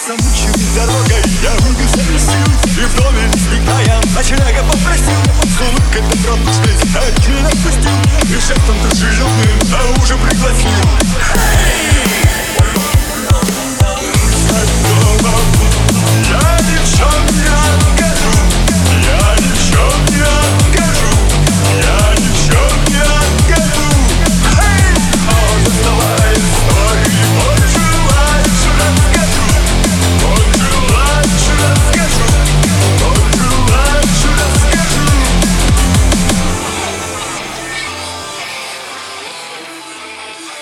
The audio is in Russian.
замученной дорогой я выбился из сил и в доме избегая ночлега попросил. С улыбкой добродушной обязательно отпустил и жестом дружелюбным на ужин пригласил.